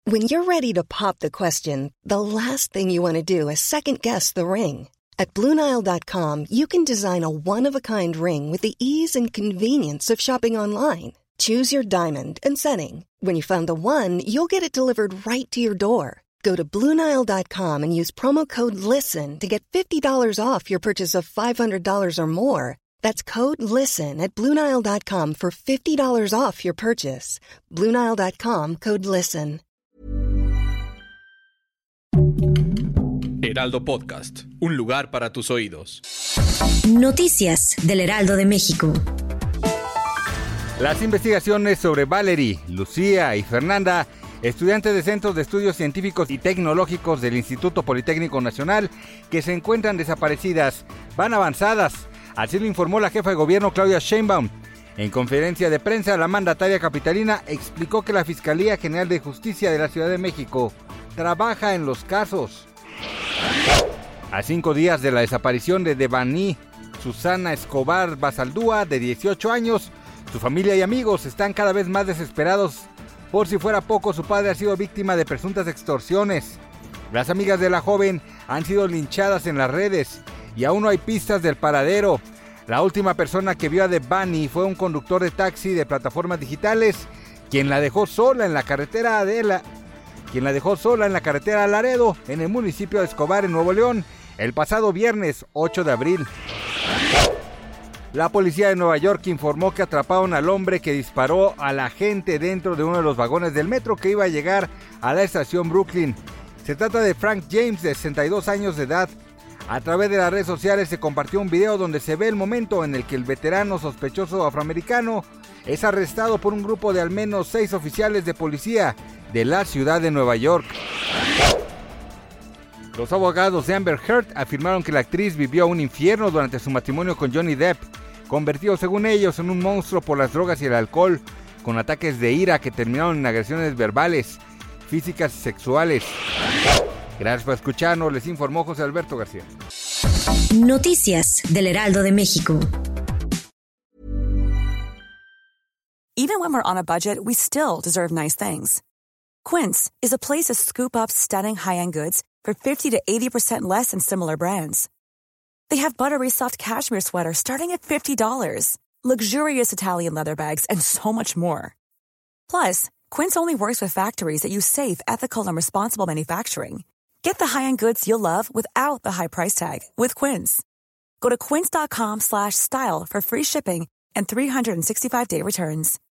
When you're ready to pop the question, the last thing you want to do is second-guess the ring. At BlueNile.com, you can design a one-of-a-kind ring with the ease and convenience of shopping online. Choose your diamond and setting. When you find the one, you'll get it delivered right to your door. Go to BlueNile.com and use promo code LISTEN to get $50 off your purchase of $500 or more. That's code LISTEN at BlueNile.com for $50 off your purchase. BlueNile.com, code LISTEN. Heraldo Podcast, un lugar para tus oídos. Noticias del Heraldo de México. Las investigaciones sobre Valerie, Lucía y Fernanda, estudiantes de Centros de Estudios Científicos y Tecnológicos del Instituto Politécnico Nacional, que se encuentran desaparecidas, van avanzadas. Así lo informó la jefa de gobierno Claudia Sheinbaum. En conferencia de prensa, la mandataria capitalina explicó que la Fiscalía General de Justicia de la Ciudad de México trabaja en los casos. A 5 días de la desaparición de Devani Susana Escobar Basaldúa, de 18 años, su familia y amigos están cada vez más desesperados. Por si fuera poco, su padre ha sido víctima de presuntas extorsiones. Las amigas de la joven han sido linchadas en las redes y aún no hay pistas del paradero. La última persona que vio a Devani fue un conductor de taxi de plataformas digitales, quien la dejó sola en la carretera a Laredo, en el municipio de Escobar, en Nuevo León, el pasado viernes 8 de abril. La policía de Nueva York informó que atraparon al hombre que disparó a la gente dentro de uno de los vagones del metro que iba a llegar a la estación Brooklyn. Se trata de Frank James, de 62 años de edad. A través de las redes sociales se compartió un video donde se ve el momento en el que el veterano sospechoso afroamericano es arrestado por un grupo de al menos 6 oficiales de policía de la ciudad de Nueva York. Los abogados de Amber Heard afirmaron que la actriz vivió un infierno durante su matrimonio con Johnny Depp, convertido según ellos en un monstruo por las drogas y el alcohol, con ataques de ira que terminaron en agresiones verbales, físicas y sexuales. Gracias por escucharnos, les informó José Alberto García. Noticias del Heraldo de México. Even when we're on a budget, we still deserve nice things. Quince is a place to scoop up stunning high-end goods for 50 to 80% less than similar brands. They have buttery soft cashmere sweaters starting at $50, luxurious Italian leather bags, and so much more. Plus, Quince only works with factories that use safe, ethical, and responsible manufacturing. Get the high-end goods you'll love without the high price tag with Quince. Go to quince.com/style for free shipping and 365-day returns.